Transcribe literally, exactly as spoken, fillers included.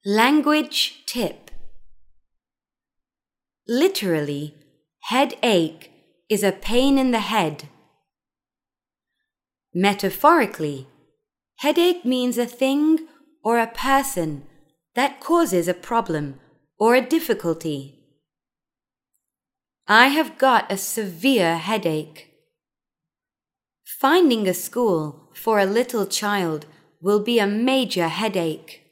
Language tip. Literally, headache is a pain in the head. Metaphorically, headache means a thing or a person that causes a problem or a difficulty. I have got a severe headache. Finding a school for a little child will be a major headache.